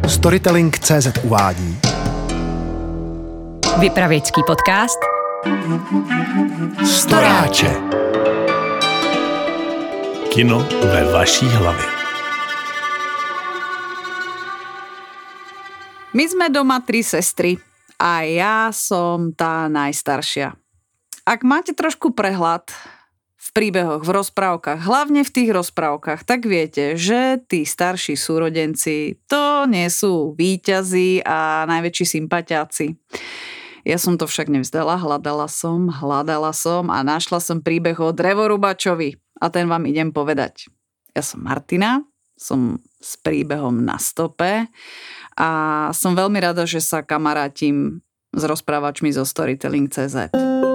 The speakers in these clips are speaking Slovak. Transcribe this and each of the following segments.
Storytelling.cz uvádí Vypravěčský podcast Storáče. Kino ve vaší hlavě. My sme doma 3 sestry a ja som tá najstaršia. Ak máte trošku prehľad v príbehoch, v rozprávkach, hlavne v tých rozprávkach, tak viete, že tí starší súrodenci to nie sú víťazi a najväčší sympatiáci. Ja som to však nevzdala, hľadala som a našla som príbeh o drevorúbačovi a ten vám idem povedať. Ja som Martina, som s príbehom na stope a som veľmi rada, že sa kamarátim s rozprávačmi zo Storytelling.cz.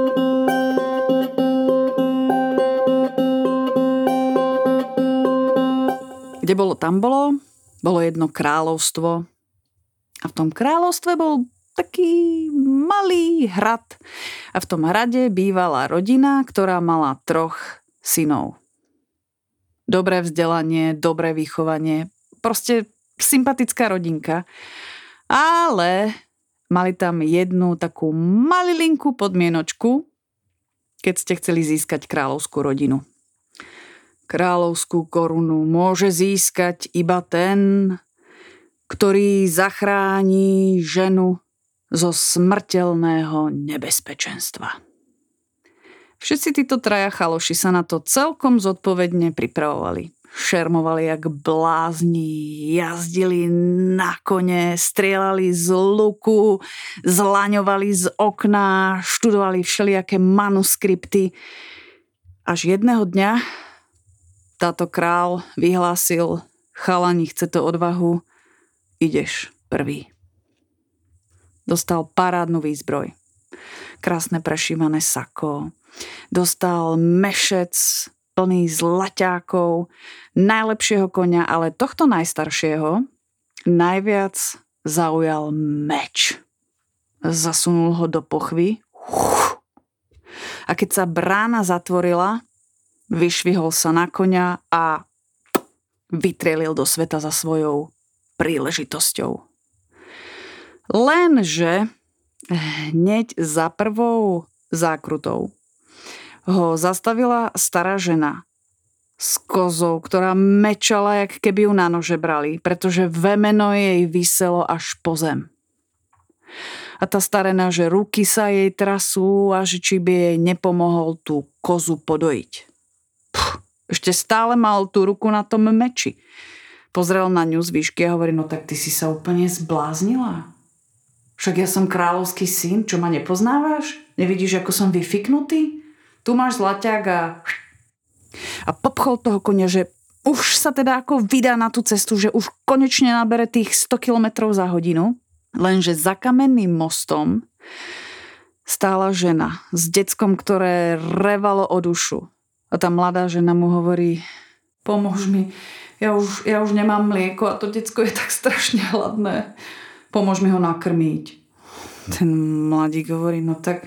Kde bolo, tam bolo. Bolo jedno kráľovstvo a v tom kráľovstve bol taký malý hrad a v tom hrade bývala rodina, ktorá mala 3 synov. Dobré vzdelanie, dobré vychovanie, proste sympatická rodinka, ale mali tam jednu takú malilinkú podmienočku, keď ste chceli získať kráľovskú rodinu. Kráľovskú korunu môže získať iba ten, ktorý zachráni ženu zo smrteľného nebezpečenstva. Všetci títo 3 chaloši sa na to celkom zodpovedne pripravovali. Šermovali jak blázni, jazdili na kone, strieľali z luku, zlaňovali z okna, študovali všelijaké manuskripty. Až jedného dňa táto král vyhlásil: chalani, chce to odvahu, ideš prvý. Dostal parádnu výzbroj, krásne prešívané sako, dostal mešec plný zlaťákov, najlepšieho koňa, ale tohto najstaršieho najviac zaujal meč. Zasunul ho do pochvy a keď sa brána zatvorila, vyšvihol sa na koňa a vytrielil do sveta za svojou príležitosťou. Lenže hneď za prvou zákrutou ho zastavila stará žena s kozou, ktorá mečala, jak keby ju na nože brali, pretože vemeno jej viselo až po zem. A tá starena, že ruky sa jej trasú a že či by jej nepomohol tú kozu podojiť. Ešte stále mal tú ruku na tom meči. Pozrel na ňu z výšky a hovorí: no tak ty si sa úplne zbláznila. Však ja som kráľovský syn, čo ma nepoznávaš? Nevidíš, ako som vyfiknutý? Tu máš zlaťák a popchol toho konia, že už sa teda ako vydá na tú cestu, že už konečne nabere tých 100 km za hodinu. Lenže za kamenným mostom stála žena s deckom, ktoré revalo o dušu. A tá mladá žena mu hovorí: pomôž mi, ja už nemám mlieko a to decko je tak strašne hladné. Pomôž mi ho nakrmiť. Ten mladík hovorí: no tak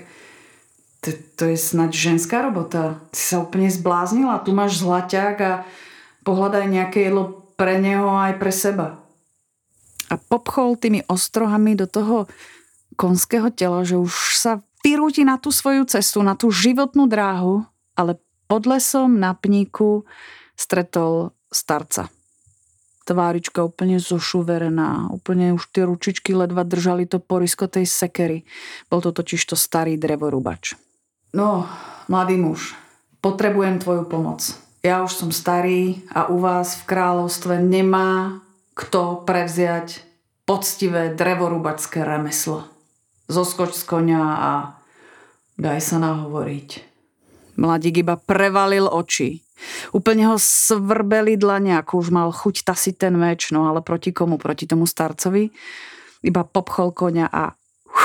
to je snáď ženská robota. Ty sa úplne zbláznila. Tu máš zlaťák a pohľadaj nejaké jedlo pre neho aj pre seba. A popchol tými ostrohami do toho konského tela, že už sa vyrúti na tú svoju cestu, na tú životnú dráhu, ale pod lesom na pníku stretol starca. Tvárička úplne zošuverená, úplne už tie ručičky ledva držali to porisko tej sekery. Bol to totiž to starý drevorúbač. No, mladý muž, potrebujem tvoju pomoc. Ja už som starý a u vás v kráľovstve nemá kto prevziať poctivé drevorúbačské remeslo. Zoskoč z koňa a daj sa nahovoriť. Mladík iba prevalil oči. Úplne ho svrbeli dlane, ako už mal chuť tasiť ten meč, no ale proti komu? Proti tomu starcovi? Iba popchol koňa a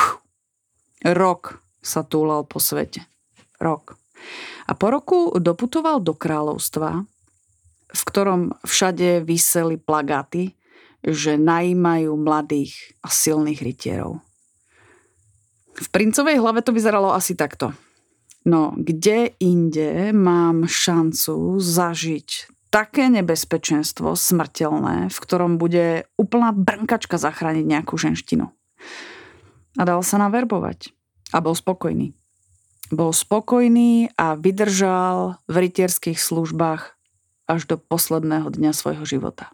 rok sa túlal po svete. Rok. A po roku doputoval do kráľovstva, v ktorom všade viseli plagáty, že najímajú mladých a silných rytierov. V princovej hlave to vyzeralo asi takto. No, kde inde mám šancu zažiť také nebezpečenstvo smrteľné, v ktorom bude úplná brnkačka zachrániť nejakú ženštinu. A dal sa naverbovať. A bol spokojný. Bol spokojný a vydržal v rytierských službách až do posledného dňa svojho života.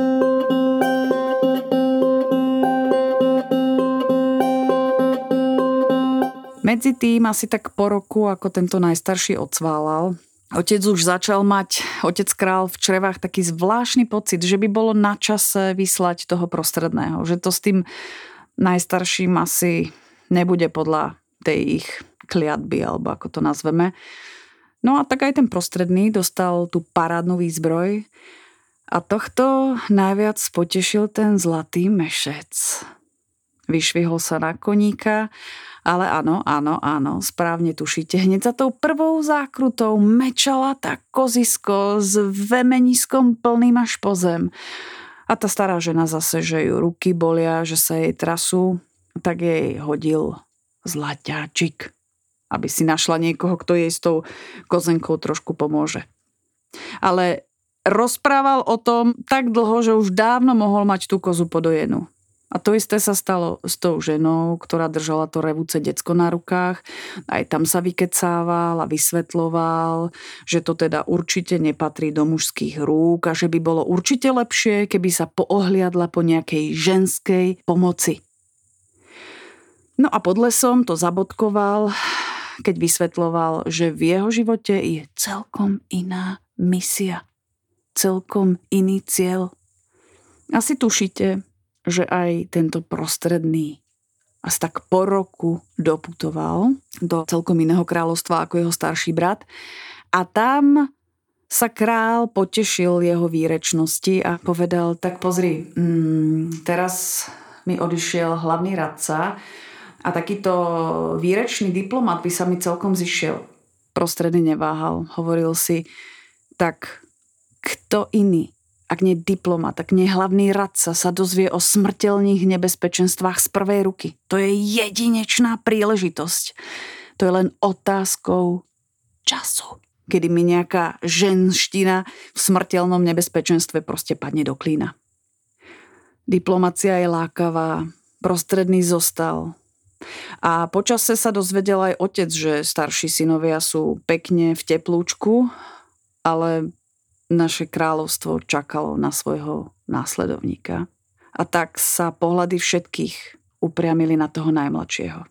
Medzi tým asi tak po roku, ako tento najstarší odsválal, otec už začal mať, otec král v črevách taký zvláštny pocit, že by bolo na čase vyslať toho prostredného. Že to s tým najstarším asi nebude podľa tej ich kliatby, alebo ako to nazveme. No a tak aj ten prostredný dostal tú parádnu výzbroj a tohto najviac potešil ten zlatý mešec. Vyšvihol sa na koníka, ale áno, správne tušíte. Hneď za tou prvou zákrutou mečala tá kozisko s vemeniskom plným až po zem. A tá stará žena zase, že ju ruky bolia, že sa jej trasú, tak jej hodil zlaťáčik, aby si našla niekoho, kto jej s tou kozenkou trošku pomôže. Ale rozprával o tom tak dlho, že už dávno mohol mať tú kozu podojenú. A to isté sa stalo s tou ženou, ktorá držala to revúce decko na rukách. Aj tam sa vykecával a vysvetloval, že to teda určite nepatrí do mužských rúk a že by bolo určite lepšie, keby sa poohliadla po nejakej ženskej pomoci. No a pod lesom to zabodkoval, keď vysvetloval, že v jeho živote je celkom iná misia, celkom iný cieľ. Asi tušíte, že aj tento prostredný asi tak po roku doputoval do celkom iného kráľovstva ako jeho starší brat a tam sa král potešil jeho výrečnosti a povedal, tak pozri, teraz mi odišiel hlavný radca a takýto výrečný diplomat by sa mi celkom zišiel. Prostredný neváhal, hovoril si, tak kto iný, ak nie diplomat, ak nie hlavný radca sa dozvie o smrteľných nebezpečenstvách z prvej ruky. To je jedinečná príležitosť. To je len otázkou času, kedy mi nejaká ženština v smrteľnom nebezpečenstve proste padne do klína. Diplomacia je lákavá, prostredný zostal. A počase sa dozvedel aj otec, že starší synovia sú pekne v teplúčku, ale naše kráľovstvo čakalo na svojho následovníka. A tak sa pohľady všetkých upriamili na toho najmladšieho.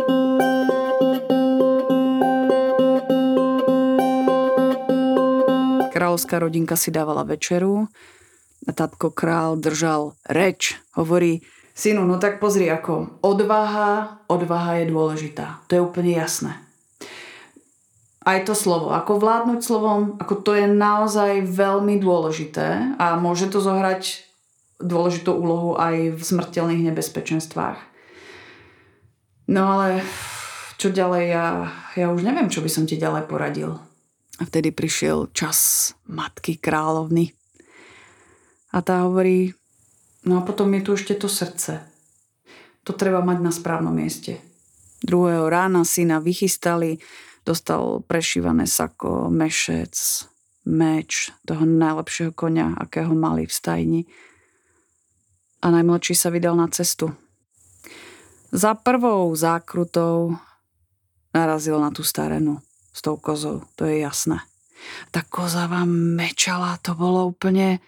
Kráľovská rodinka si dávala večeru a tatko král držal reč. Hovorí, synu, no tak pozri ako, odvaha je dôležitá. To je úplne jasné. Aj to slovo, ako vládnuť slovom, ako to je naozaj veľmi dôležité a môže to zohrať dôležitú úlohu aj v smrteľných nebezpečenstvách. No ale čo ďalej, ja už neviem, čo by som ti ďalej poradil. A vtedy prišiel čas matky kráľovny. A tá hovorí, no a potom je tu ešte to srdce. To treba mať na správnom mieste. Druhého rána syna vychystali, dostal prešívané sako, mešec, meč, toho najlepšieho koňa, akého mali v stajni. A najmladší sa vydal na cestu. Za prvou zákrutou narazil na tú starenu s tou kozou, to je jasné. Tá koza vám mečala, to bolo úplne...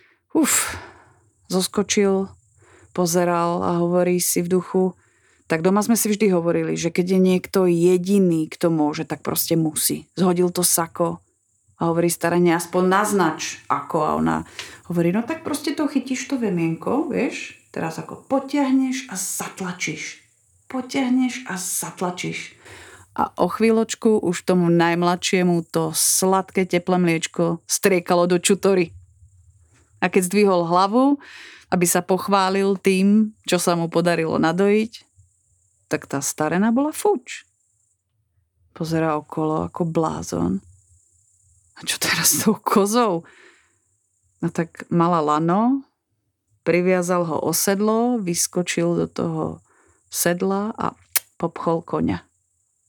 Zoskočil, pozeral a hovorí si v duchu, tak doma sme si vždy hovorili, že keď je niekto jediný, kto môže, tak proste musí. Zhodil to sako a hovorí staranie, aspoň naznač ako. A ona hovorí, no tak proste to chytíš to vemienko, vieš, teraz ako potiahneš a zatlačíš. Potiahneš a zatlačíš. A o chvíľočku už tomu najmladšiemu to sladké teplé mliečko striekalo do čutory. A keď zdvihol hlavu, aby sa pochválil tým, čo sa mu podarilo nadojiť, tak tá starena bola fuč. Pozerá okolo ako blázon. A čo teraz s tou kozou? No tak mala lano, priviazal ho o sedlo, vyskočil do toho sedla a popchol koňa.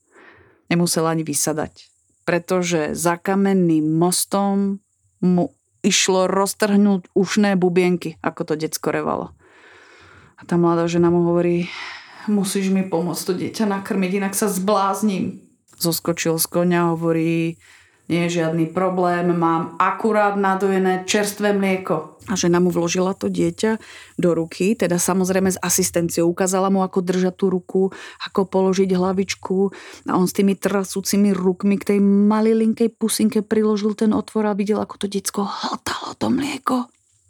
Nemusel ani vysadať, pretože za kamenným mostom mu išlo roztrhnúť ušné bubienky, ako to decko revalo. A tá mladá žena mu hovorí: musíš mi pomôcť to dieťa nakrmiť, inak sa zblázním. Zoskočil z koňa a hovorí: nie je žiadny problém, mám akurát nadojené čerstvé mlieko. A žena mu vložila to dieťa do ruky, teda samozrejme s asistenciou. Ukázala mu, ako držať tú ruku, ako položiť hlavičku. A on s tými trasúcimi rukmi k tej malilinkej pusinke priložil ten otvor a videl, ako to decko hltalo to mlieko.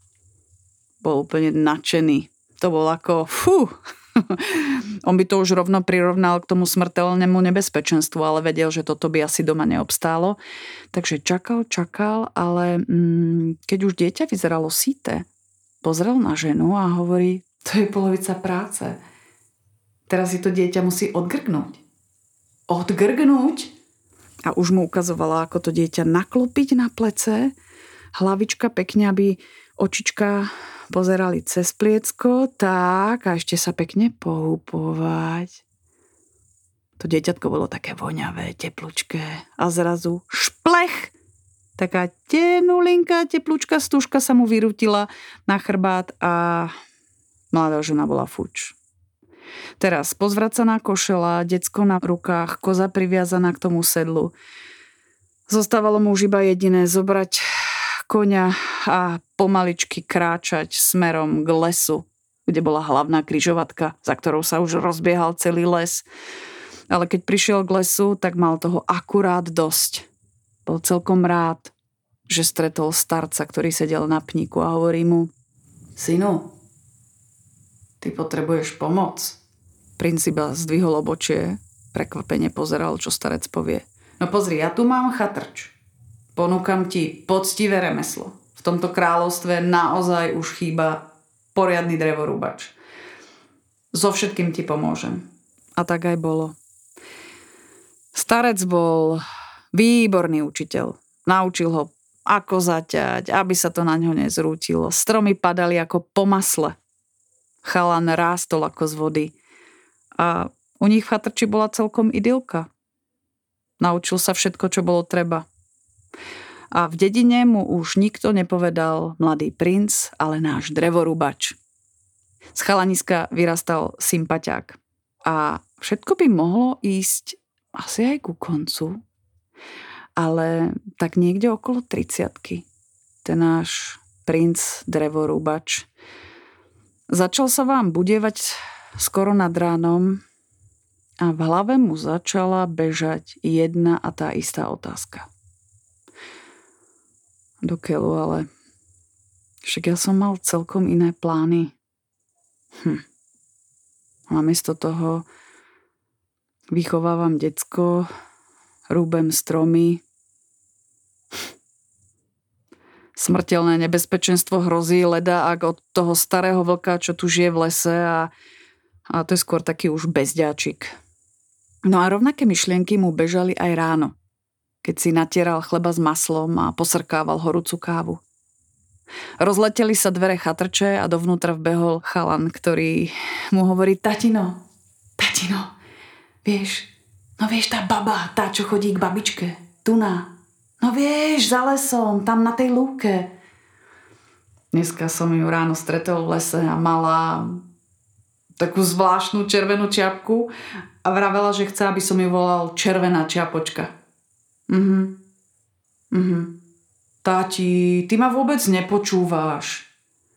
Bol úplne nadšený. To bol ako On by to už rovno prirovnal k tomu smrteľnému nebezpečenstvu, ale vedel, že toto by asi doma neobstálo. Takže čakal, ale keď už dieťa vyzeralo syté, pozrel na ženu a hovorí: to je polovica práce. Teraz si to dieťa musí odgrgnúť. Odgrgnúť? A už mu ukazovala, ako to dieťa naklopiť na plece, hlavička pekne, aby očička pozerali cez pliecko, tak, a ešte sa pekne pohúpovať. To dieťatko bolo také voňavé, teplúčké a zrazu šplech! Taká tenulinká teplúčka stužka sa mu vyrútila na chrbát a mladá žena bola fuč. Teraz pozvracaná košela, decko na rukách, koza priviazaná k tomu sedlu. Zostávalo mu už iba jediné: zobrať koňa a pomaličky kráčať smerom k lesu, kde bola hlavná križovatka, za ktorou sa už rozbiehal celý les. Ale keď prišiel k lesu, tak mal toho akurát dosť. Bol celkom rád, že stretol starca, ktorý sedel na pníku a hovorí mu: synu, ty potrebuješ pomoc. Princ iba zdvihol obočie, prekvapene pozeral, čo starec povie. No pozri, ja tu mám chatrč. Ponúkam ti poctivé remeslo. V tomto kráľovstve naozaj už chýba poriadny drevorúbač. So všetkým ti pomôžem. A tak aj bolo. Starec bol výborný učiteľ. Naučil ho, ako zaťať, aby sa to na ňo nezrútilo. Stromy padali ako po masle. Chalan rástol ako z vody. A u nich v chatrči bola celkom idylka. Naučil sa všetko, čo bolo treba. A v dedine mu už nikto nepovedal mladý princ, ale náš drevorúbač. Z chalaniska vyrastal sympaťák. A všetko by mohlo ísť asi aj ku koncu, ale tak niekde okolo 30-ky ten náš princ drevorúbač začal sa vám budievať skoro nad ránom a v hlave mu začala bežať jedna a tá istá otázka. Do keľu, ale však ja som mal celkom iné plány. Namiesto toho vychovávam decko, rúbem stromy. Smrteľné nebezpečenstvo hrozí leda, ak od toho starého vlka, čo tu žije v lese, a to je skôr taký už bezďáčik. No a rovnaké myšlienky mu bežali aj ráno, keď si natieral chleba s maslom a posrkával horúcu kávu. Rozleteli sa dvere chatrče a dovnútra vbehol chalan, ktorý mu hovorí: Tatino, vieš tá baba, tá, čo chodí k babičke, tuná. No vieš, za lesom, tam na tej lúke. Dneska som ju ráno stretol v lese a mala takú zvláštnu červenú čiapku a vravela, že chce, aby som ju volal Červená čiapočka. Táti, ty ma vôbec nepočúváš.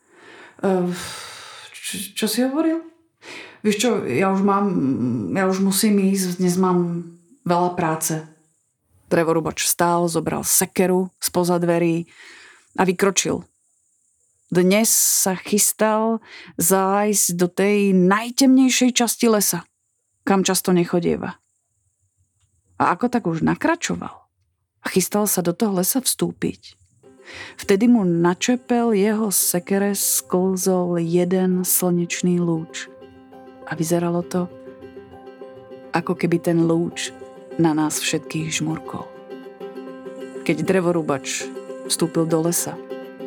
Čo si hovoril? Vieš čo, ja už musím ísť, dnes mám veľa práce. Drevorúbač vstal, zobral sekeru spoza dverí a vykročil. Dnes sa chystal zájsť do tej najtemnejšej časti lesa, kam často nechodieva. A ako tak už nakračoval a chystal sa do toho lesa vstúpiť, vtedy mu na čepel jeho sekere sklzol jeden slnečný lúč. A vyzeralo to, ako keby ten lúč na nás všetkých žmurkol. Keď drevorúbač vstúpil do lesa,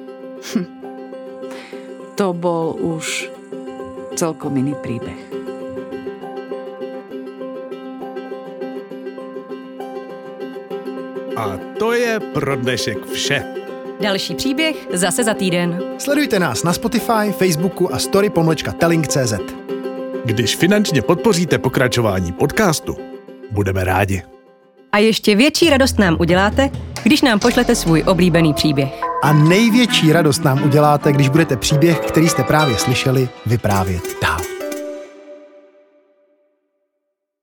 to bol už celkom iný príbeh. A to je pro dnešek vše. Další příběh zase za týden. Sledujte nás na Spotify, Facebooku a story.telling.cz. Když finančně podpoříte pokračování podcastu, budeme rádi. A ještě větší radost nám uděláte, když nám pošlete svůj oblíbený příběh. A největší radost nám uděláte, když budete příběh, který jste právě slyšeli, vyprávět dál.